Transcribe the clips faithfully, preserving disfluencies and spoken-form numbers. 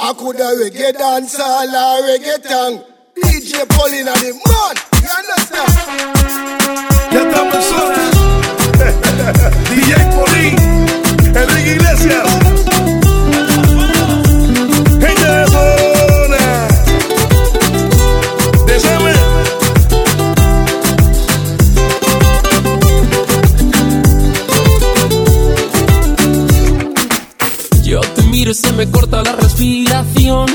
I coulda reggae dancehall or reggaeton. D J Paulina the man, you understand? Ya estamos solos. D J Paulín, Enrique Iglesias. Gente de zona. Desame. Yo te miro y se me corta la respiración.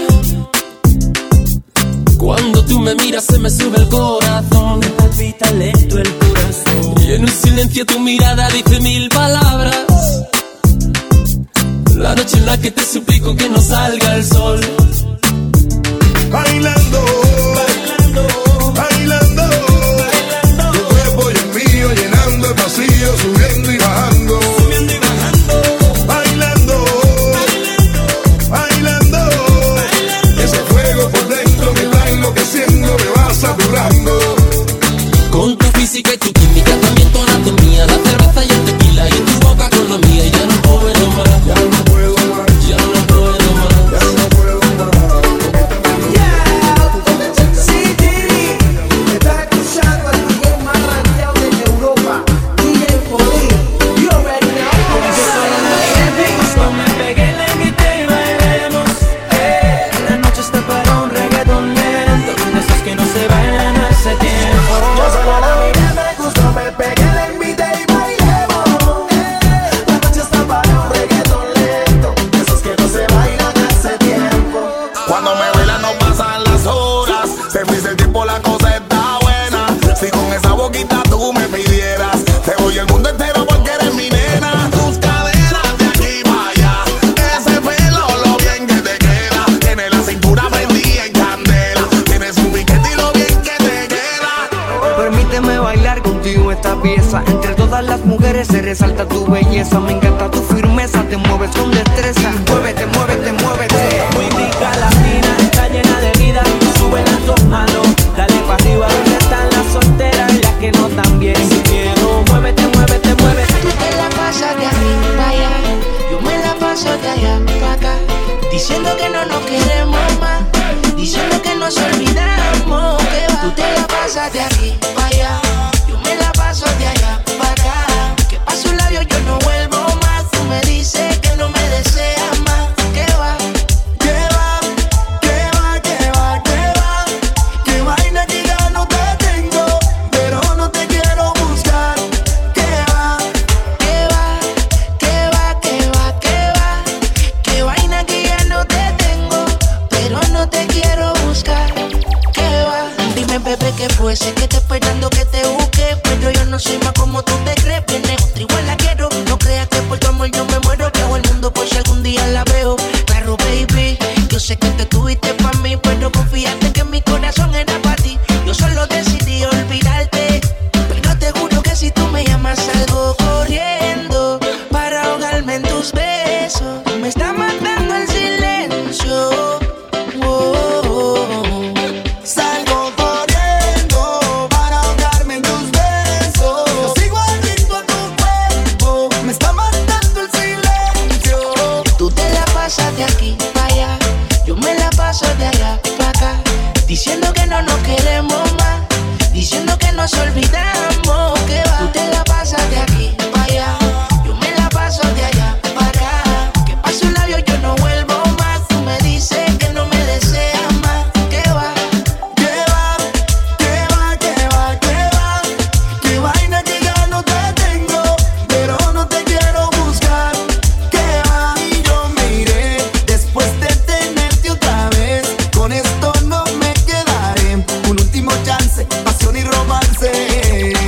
Cuando tú me miras se me sube el corazón. Me palpita lento el corazón. Y en un silencio tu mirada dice mil palabras. La noche en la que te suplico que no salga el sol. Bailando, bailando, bailando, bailando. Tu cuerpo y el mío llenando el vacío, subiendo y bajando. Subiendo y bajando. Bailando, bailando, bailando, bailando. Ese fuego por dentro me va enloqueciendo, me va saturando. Con tu física y tu química, también tu anatomía, la cerveza y el tequila, y en tu boca con la mía, y ya no puedo más. Ya no puedo más. Ya no puedo más. Ya no puedo más. Sí, Giri, me está escuchando el D J más rankeado de Europa, D J Paulín. You already know. Cuando me pegué la invité y bailemos. Eh, la noche está para un reggaetón lento, de esos que no se bailan hace tiempo. Yo solo la miré, me gustó, me pegué, le invité y bailemos. La noche está para un reggaetón lento, de esos que no se bailan hace tiempo. Cuando me bailan no pasan las horas. Se me dice el tiempo, la cosa está buena. Si con esa boquita tú me pidieras, te doy el mundo entero porque eres mi nena. Tus caderas de aquí para allá, ese pelo lo bien que te queda. Tienes la cintura prendida en candela, tienes un piquete y lo bien que te queda. Permíteme bailar contigo esta pieza. Entre todas las mujeres se resalta tu belleza. Me encanta tu firmeza, te mueves con destreza. Muévete, muévete, muévete. Muy rica latina, está llena de vida. Sube las dos manos, dale para arriba. ¿Dónde están las solteras y las que no tan bien? Sin miedo, muévete, muévete, muévete. Tú te la pasas de aquí para allá, yo me la paso de allá para acá, diciendo que no nos queremos más, diciendo que nos olvidamos, que va. Tú te la pasas de aquí para allá, yo me la paso de allá para acá, que paso un labio yo no vuelvo más. Tú me dices que no me deseas más, que va. Que va, que va, que va, que va. Que vaina que ya no te tengo, pero no te quiero buscar. Que va, Que va, que va, que va, que va. Que vaina que ya no te tengo, pero no te quiero buscar. Que va. Dime, bebé, que fue. Sé que te esperando que te busque, pero yo no soy más como tú te crees. Viene otra igual la quiero. No creas que por tu amor yo me muero. Que hago el mundo por si algún día la veo. Claro, baby, yo sé que te tuviste pa' mí, pero confiaste que mi corazón era pa' ti. Yo solo decidí olvidarte, pero te juro que si tú me llamas salgo corriendo para ahogarme en tus besos. Me está matando el silencio. Oh, oh, oh. salgo corriendo para ahogarme en tus besos. Yo sigo adicto a tu cuerpo, me está matando el silencio. Tú te la pasas de aquí para allá, yo me la paso de allá para acá, diciendo que no nos queremos más, diciendo que nos olvidamos, que va. Tú te la pasas de aquí para allá, yo me la paso de allá para acá, que paso un labio yo no vuelvo más. Tú me dices que no me deseas más, que va. Que va, que va, que va, que va. Que vaina que ya no te tengo, pero no te quiero buscar. Que va, y yo me iré después de tenerte otra vez. Con esto no me quedaré. Un último chance, pasión y romance.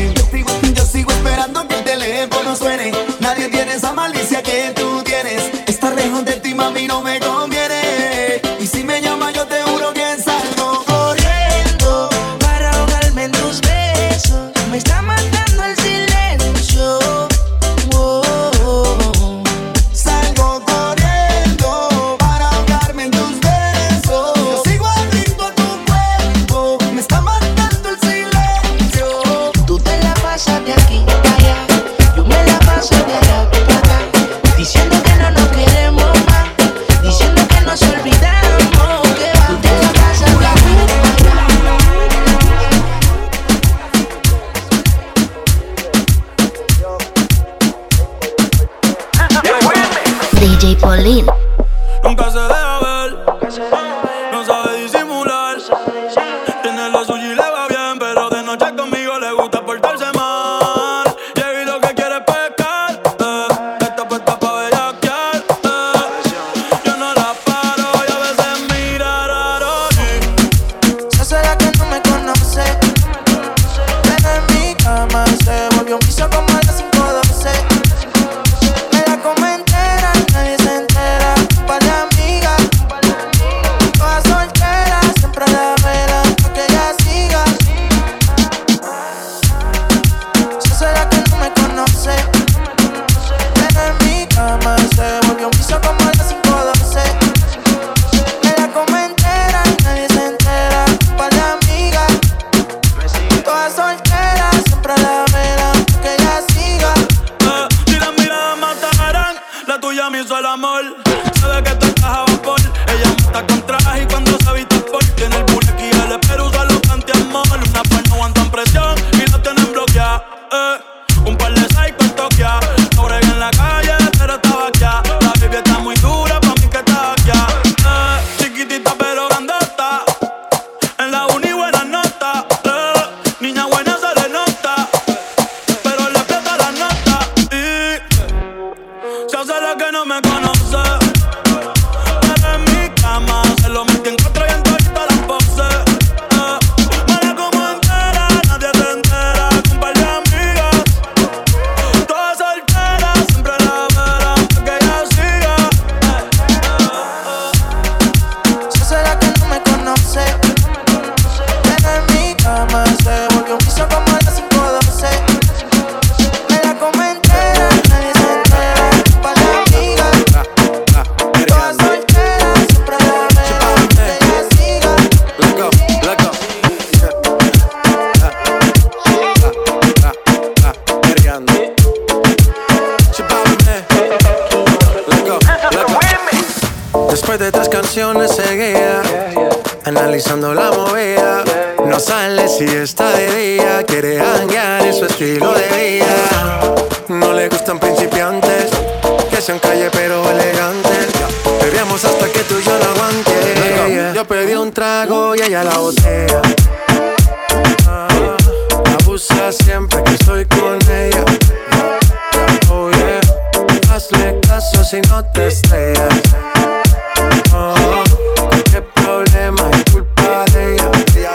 Después de tres canciones seguía analizando la movida. No sale si está de día, quiere janguear en su estilo de vida. No le gustan principiantes, que sean calle pero elegantes. Bebíamos hasta que tú y yo la aguante. Yo pedí un trago y ella la botella. Ah, abusa siempre que estoy con ella. Oh yeah, hazle caso si no te estrellas. Oh, qué problema es culpa de ella.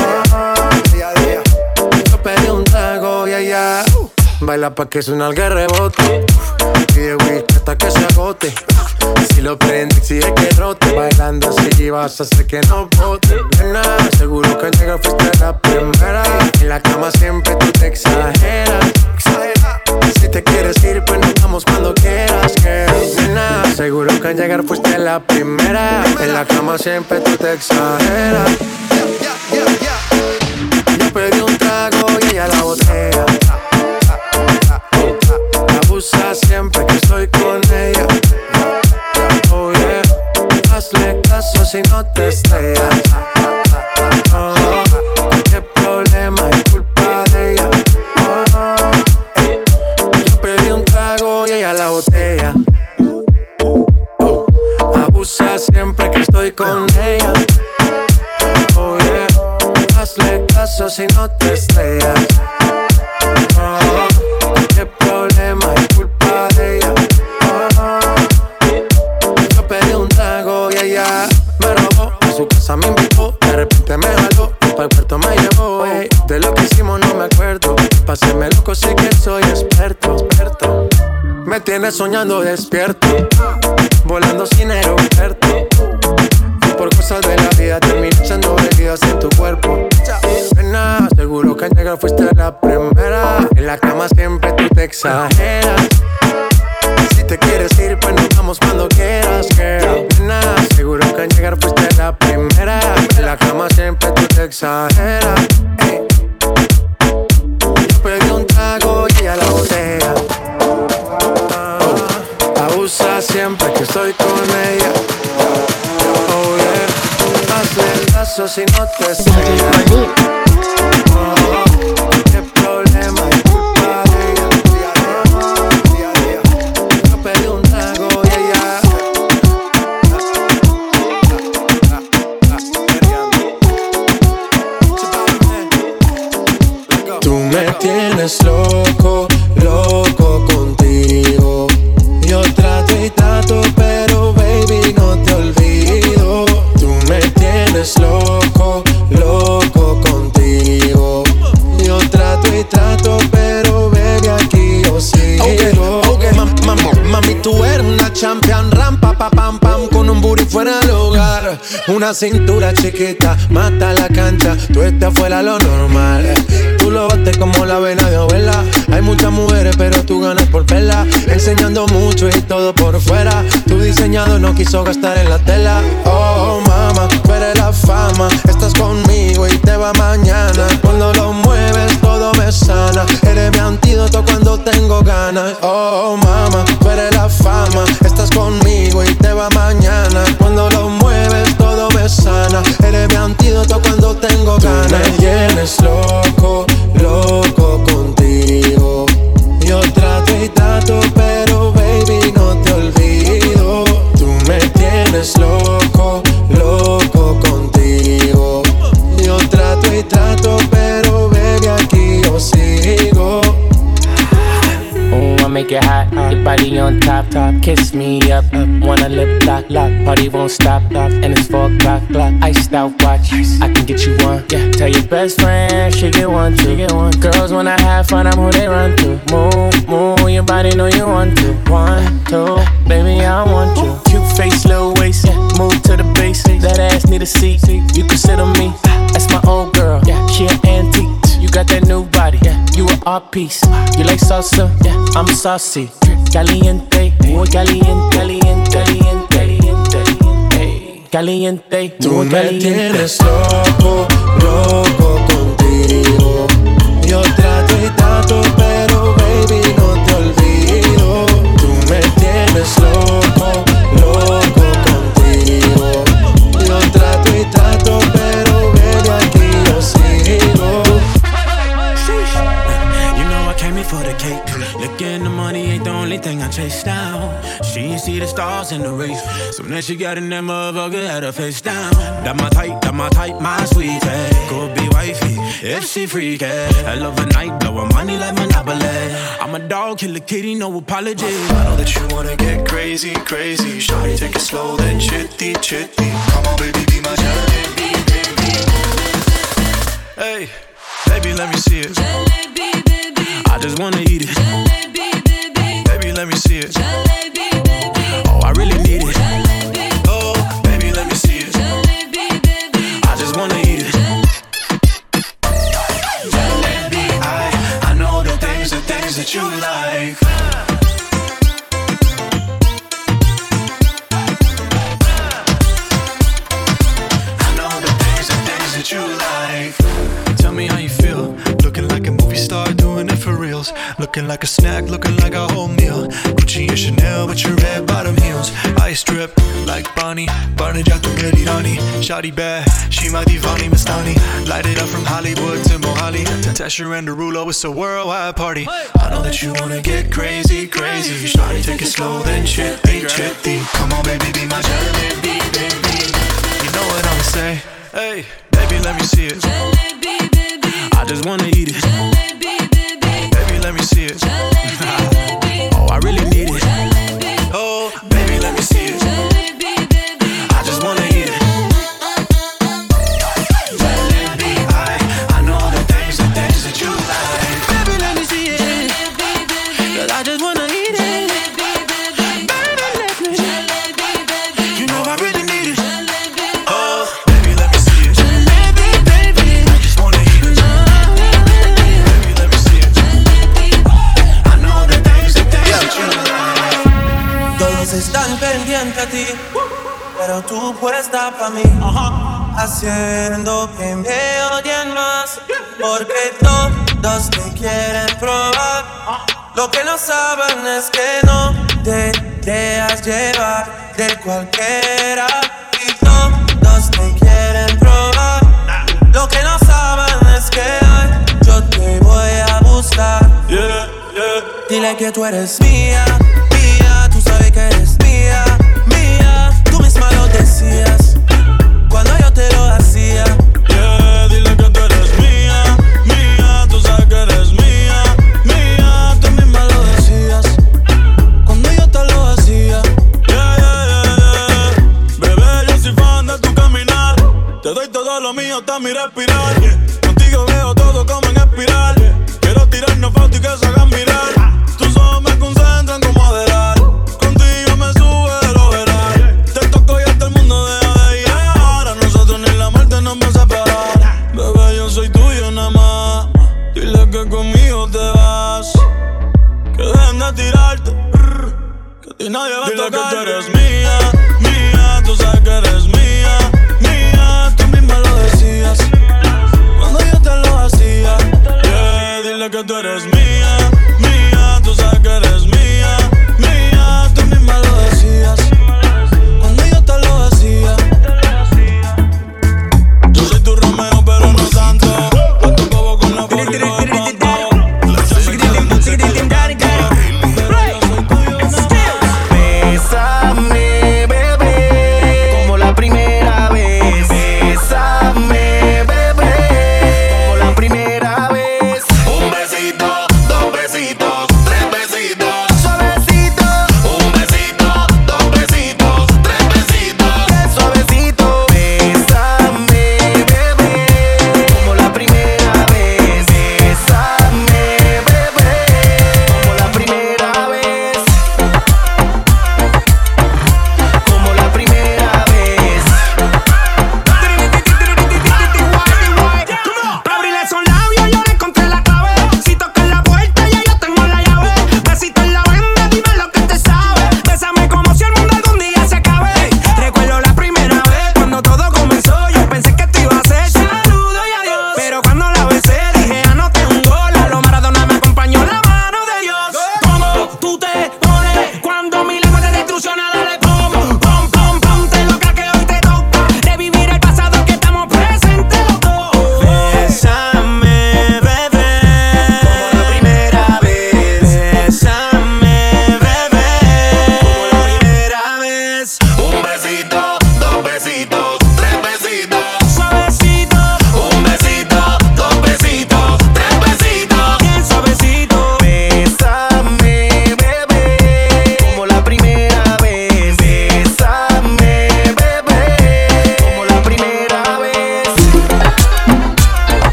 Yo pedí un trago y ella baila pa' que suena el rebote. Pide whisky hasta que se agote. Si lo prende, exige que rote. Bailando así vas a hacer que no bote. Nena, seguro que al llegar fuiste la primera. En la cama siempre tú te exageras. Si te quieres ir, pues nos vamos cuando quieras, girl. Nena, seguro que al llegar fuiste la primera. En la cama siempre tú te exageras. Yo pedí un trago y ella la botella. Abusa siempre que estoy con ella. Oh yeah, hazle caso si no te estrellas. Oh, qué problema es culpa de ella. Oh, yo pedí un trago y ella la botella. Oh, abusa siempre que estoy con ella. Oh yeah, hazle caso si no te estrellas. Oh, qué problema es culpa de ella. Yo pedí un trago y ella me robó. A su casa me invitó, de repente me jaló. Para el puerto me llevó, ey. De lo que hicimos no me acuerdo. Pásenme loco, sé que soy experto, experto. Me tienes soñando despierto, volando sin aeropuerto. Y por cosas de la vida terminé echando bebidas en tu cuerpo. Nena, seguro que al llegar fuiste la primera. En la cama siempre tú te exageras. Si te quieres ir, pues nos vamos cuando quieras, girl. Nena, seguro que al llegar fuiste la primera. En la cama siempre tú te exageras. Hey. Yo pedí un trago y ella la botella. Ah, abusa siempre que estoy con ella. Oh yeah, hazle el caso si no te estrellas. Oh, qué problema es culpa de ella. Yo pedí un trago y ella. Tú me tienes loco, loco contigo. Yo trato y trato, pero baby no te olvido. Tú me tienes loco, loco contigo. Yo trato y trato, pero baby aquí yo sigo. Okay, okay. Mam, mam, mami, tú eres una champion, rampa, pa, pam, pam, con un booty fuera del hogar. Una cintura chiquita, mata la cancha, tú estás fuera lo normal. Tú lo bates como la vena de abuela. Hay muchas mujeres, pero tú ganas por verla. Enseñando mucho y todo por fuera. Tu diseñado no quiso gastar en la tela. Oh, mama, tú eres la fama. Estás conmigo y te va mañana. Cuando lo mueves, todo me sana. Eres mi antídoto cuando tengo ganas. Oh, mama, tú eres la fama. Estás conmigo y te va mañana. Cuando lo mueves, todo me sana. Eres mi antídoto cuando tengo ganas. Tú me tienes loco, loco contigo. Yo trato y trato, pero baby no te olvido. Tú me tienes loco, loco contigo. Yo trato y trato, pero baby aquí yo sigo. Oh, I make it hot, your body on top, top. Kiss me up, up. Wanna lip lock, lock. Party won't stop, stop. And it's four o'clock, clock. Iced out watch, I can get you one. Yeah, tell your best friend she get one, she get one. Girls wanna have fun, I'm who they run to. Move, move, your body know you want to. One, two, baby I want you. Cute face, little waist, yeah. Move to the base. That ass need a seat, you can sit on me. That's my old girl, yeah. She an antique. You got that new body, yeah. You an art piece. You like salsa, yeah. I'm saucy. Caliente, muy caliente, caliente, caliente, caliente, caliente. Tú me tienes loco, loco contigo. Yo trato y trato, pero baby no te olvido. Tú me tienes loco, loco contigo. horse in the race. Soon as she got in that motherfucker, had her face down. That my type, that my type, my sweetie. Could be wifey if she freaky. I love a night, blowin' money like Monopoly. I'm a dog, kill a kitty, no apology. I know that you wanna get crazy, crazy. Shawty, take it slow, then chitty, chitty. Come on, baby, be my jalebi, baby. Hey, baby, let me see it. Jalebi, baby. I just wanna eat it. Jalebi, baby. Baby, let me see it. Jalebi, baby. Oh, I really need it. Jalebi. Oh, baby, let me see it. Jalebi, baby. I just wanna eat it. Jalebi, I, I know the things, the things that you like. That you like. Tell me how you feel. Looking like a movie star, doing it for reals. Looking like a snack, looking like a whole meal. Gucci and Chanel with your red bottom heels. Ice drip like Bonnie. Barney Jack to get Irani. Shawty bad, she my divani Mastani. Light it up from Hollywood to Mohali. Tasha and Derulo, it's a worldwide party. I know that you wanna get crazy, crazy. Shawty, take it slow, then chitty, chitty. Come on, baby, be my jalebi, baby. You know what I'ma say? Hey, baby, let me see it. Jalebi, baby. I just wanna eat it. Jalebi, baby. Baby, let me see it. Jalebi, baby. Oh, I really need it. Jalebi. Oh, baby, let me see it. Jalebi, baby. I just wanna eat it. Jalebi, I, I know the things, the things that you like. Baby, let me see it. Jalebi, baby. Cause I just wanna eat it. Jalebi, baby. Baby, let me. Jalebi, baby. You know I really need it. Oh, baby, let me see it. Jalebi, baby. I just wanna eat it. Baby, let me see it. I know the things, the things that you like. Todos están pendientes a ti, pero tú puesta pa' mí, haciendo que me odien más, porque todos te quieren probar. Lo que no saben es que no te dejas llevar de cualquiera, y todos te quieren probar. Lo que no saben es que hoy yo te voy a buscar. Yeah, yeah. Dile que tú eres mía, mía, tú sabes que eres mía, mía. Tú misma lo decías cuando yo te lo hacía. Yeah, dile que tú eres mía, mía, tú sabes que eres mía, mía. Tú misma lo decías cuando yo te lo hacía. Yeah, yeah, yeah, yeah. Bebé, yo soy fan de tu caminar. Te doy todo lo mío hasta mi respirar. Contigo veo todo como en espiral. Quiero tirarnos fotos y que se hagan mirar. Tus ojos me concentran como adelar. Contigo me sube de lo veral. Te toco y hasta el mundo deja de llegar. A nosotros ni la muerte nos va a separar. Bebé, yo soy tuyo nada más. Dile que conmigo te vas. Que dejen de tirarte. Que a ti nadie va a tocar. Dile que tú eres mía, mía. Tú sabes que eres mía, mía. Tú misma lo decías cuando yo te lo hacía. Yeah, dile que tú eres mía, mía. Tú sabes que eres mía, mía.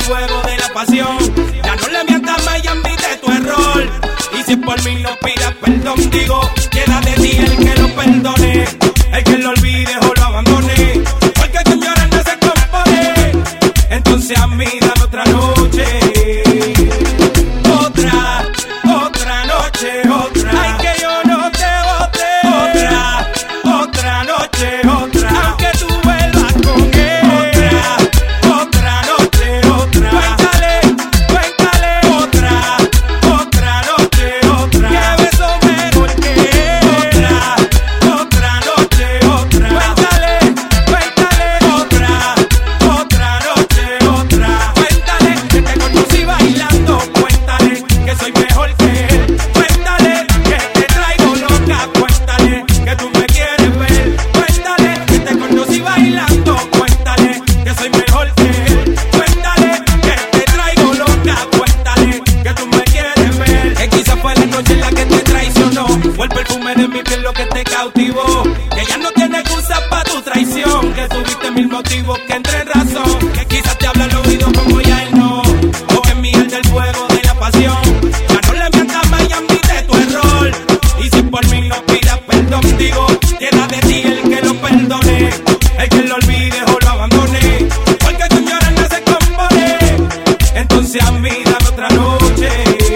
fuego de la pasión. Ya no le mientas más y admite tu error. Y si por mí no pidas perdón, digo, queda de ti el que lo perdone, el que lo olvide o lo abandone, porque quien llora no se compone. Entonces a mí dame otra noche, otra, otra noche, otra. Ay, que yo no te bote, otra, otra noche, otra. Aunque tú vuelvas con él, otra, otra noche, otra. Cuéntale, cuéntale, otra, otra noche, otra. Que beso mejor que él, otra, otra noche, otra. Cuéntale, cuéntale, otra, otra noche, otra. Cuéntale que te conocí bailando, cuéntale que soy mejor que él. Cuéntale que te traigo loca, cuéntale que tú me quieres ver. Cuéntale que te conocí bailando, cuéntale que soy mejor que él. Cuéntale que te traigo loca, cuéntale que tú me quieres ver. Que quizás fue la noche en la que te traicionó, o el perfume de mi piel lo que te cautivó. Que ya no tiene excusa pa' tu traición, que tuviste mil motivos que entre en razón. Que quizás te habla al oído como ya él no, o que miel del fuego de la pasión. Ya no le mientas más y admite tu error. Y si por mí no pidas perdón, digo, queda de ti el que lo perdone, el que lo olvide o lo abandone, porque tu llorar no se compone. Entonces a mí dame otra noche,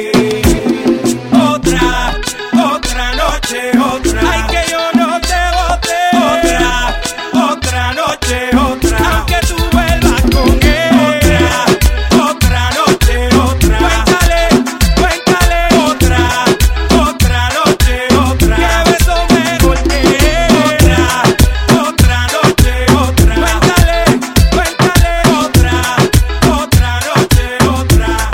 otra, otra noche, otra. Ay, que yo no te bote, otra, otra noche, otra. Aunque tú vuelvas con él, otra, otra noche, otra. Cuéntale, cuéntale, otra, otra noche, otra. Que beso mejor que él, otra, otra noche, otra. Cuéntale, cuéntale, otra, otra noche, otra.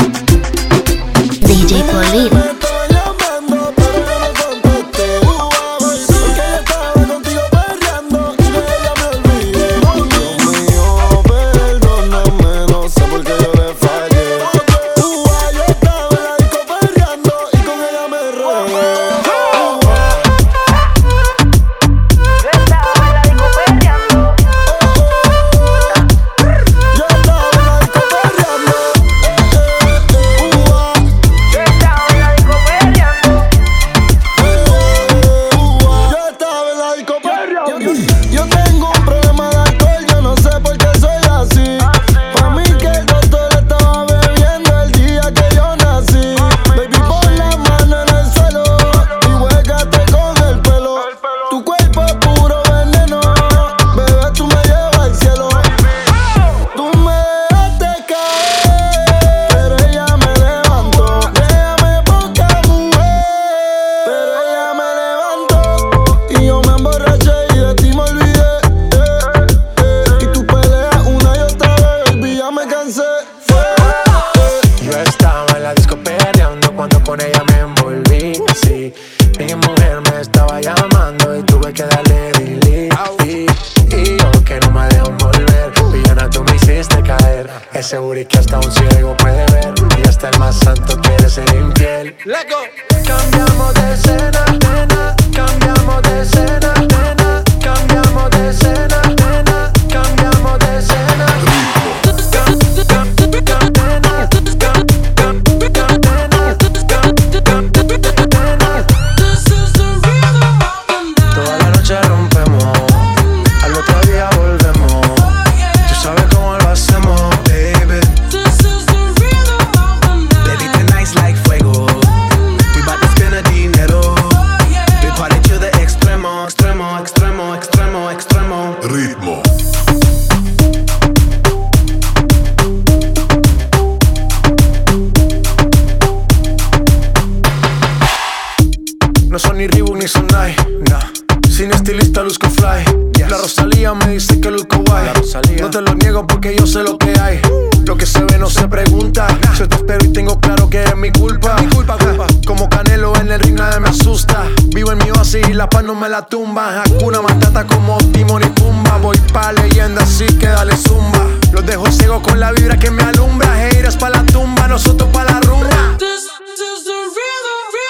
D J Polito. Me estaba llamando, pero yo no contesté. Porque yo estaba contigo perreando y de ella me olvidé. Dios mío, perdóname, no sé por qué yo le fallé. Ua, yo estaba en la disco perreando y con ella me regué. Yo estaba en la disco perreando. Ua, yo estaba en la disco perreando. Yo estaba en la disco perreando. Yo tengo un problema de alcohol, yo no sé por qué soy así. Pa' mí que el doctor estaba bebiendo el día que yo nací. Baby, pon la mano en el suelo y huégate con el pelo. Tu cuerpo es puro veneno, bebé, tú me llevas al cielo. Tú me dejaste caer, pero ella me levantó. Déjame poca mujer, pero ella me levantó. Y yo me emborraché y de ti me olvidé. eh, eh. Y tú peleas una y otra vez, baby, ya me cansé. eh, eh. Yo estaba en la disco perreando cuando con ella me envolví. Sí, mi mujer me estaba llamando y tuve que darle delete. Y, y yo que no me dejo volver, villana, tú me hiciste caer. Ese booty que hasta un ciego puede ver, y hasta el más santo quiere ser infiel. Cambiamos de escena, nena, cambiamos de escena, nena, cambiamos de escena, nena, cambiamos de escena. Toda la noche rompemos, al otro día volvemos. Tú sabes cómo lo hacemos, baby. Baby, tonight's like fuego. We bout to spend the dinero. We party to the extremo, extremo, extremo, extremo, extremo. Ritmo. No son ni Reebok ni Sonai, nah. Sin estilista luzco fly. La Rosalía me dice que luzco guay. No te lo niego porque yo sé lo que hay. Lo que se ve no se pregunta. Yo te espero y tengo claro que es mi culpa. Mi culpa, culpa. Como Canelo en el ring nadie me asusta. Vivo en mi oasis y la paz no me la tumba. Hakuna Matata como Timon y Pumba. Voy pa' leyenda así que dale zumba. Los dejo ciego con la vibra que me alumbra. Haters pa' la tumba, nosotros pa' la rumba.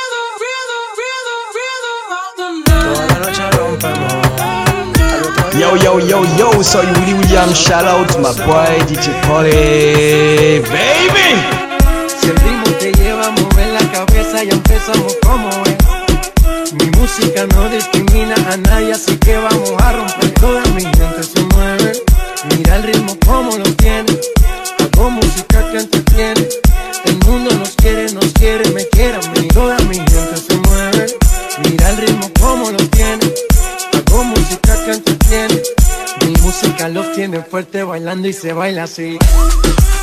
Yo, Yo, yo, yo, yo, soy Willy William, shout out to my boy D J Polly, baby. Si el ritmo te lleva a mover la cabeza, ya empezamos como es. Mi música no discrimina a nadie, así que vamos a romper. Toda mi gente se mueve, mira el ritmo como lo tiene. Hago música que entretiene, el mundo nos quiere, nos quiere, me quiere a mí. Toda mi gente se mueve, mira el ritmo como lo tiene. Hago música que entretiene, mi música los tiene fuerte bailando y se baila así.